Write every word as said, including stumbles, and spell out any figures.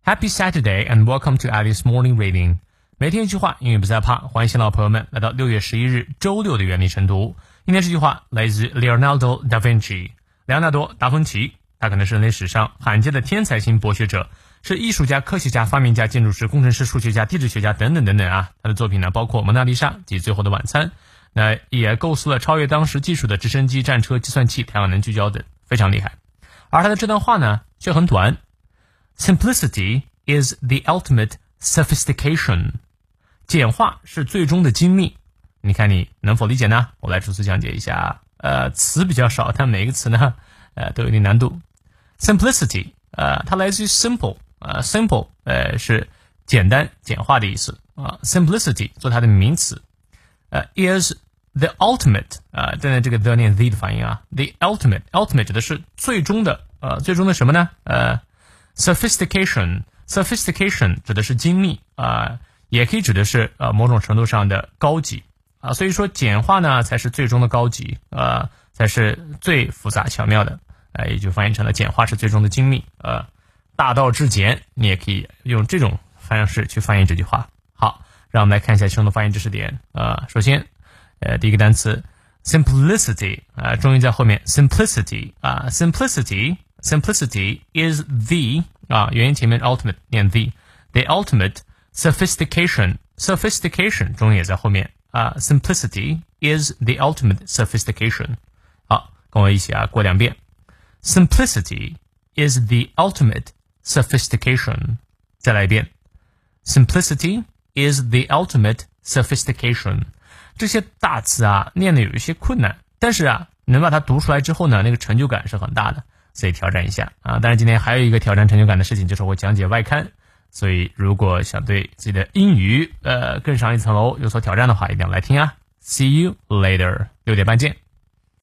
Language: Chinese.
Happy Saturday and welcome to Alice Morning Reading. 每天一句话，英语不再怕。欢迎新老朋友们来到六月十一日周六的原力晨读。今天这句话来自 Leonardo da Vinci， 莱昂纳多·达芬奇。他可能是人类史上罕见的天才型博学者，是艺术家、科学家、发明家、建筑师、工程师、数学家、地质学家等等等等啊。他的作品呢，包括《蒙娜丽莎》及《最后的晚餐》，那也构思了超越当时技术的直升机、战车、计算器、太阳能聚焦等，非常厉害。而他的这段话呢，却很短。Simplicity is the ultimate sophistication. 简化是最终的精密。你看你能否理解呢？我来逐词讲解一下。呃，词比较少，但每一个词呢，呃，都有一定难度。Simplicity， 呃，它来自于 simple， 呃 ，simple， 呃，是简单、简化的意思啊。Simplicity 做它的名词，呃 ，is the ultimate， 呃，现在这个 the 念 the 的发音啊 ，the ultimate，ultimate 指的是最终的，呃，最终的什么呢？呃 ，sophistication，sophistication 指的是精密啊、呃，也可以指的是呃某种程度上的高级啊、呃，所以说简化呢才是最终的高级，呃，才是最复杂巧妙的。呃，也就翻译成了简化是最终的精密，呃，大道至简，你也可以用这种方式去翻译这句话。好，让我们来看一下其中的发音知识点。呃，首先，呃，第一个单词 simplicity， 啊、呃，重音在后面 simplicity 啊、呃、，simplicity simplicity is the 啊、呃，元音前面 ultimate 念 the the ultimate sophistication sophistication 重音也在后面啊、呃、，simplicity is the ultimate sophistication。好，跟我一起啊过两遍。Simplicity is the ultimate sophistication. 再来一遍。Simplicity is the ultimate sophistication. 这些大词啊，念的有一些困难，但是啊，能把它读出来之后呢，那个成就感是很大的，所以挑战一下啊。当然今天还有一个挑战成就感的事情，就是我讲解外刊，所以如果想对自己的英语呃更上一层楼有所挑战的话，一定要来听啊。See you later. 六点半见。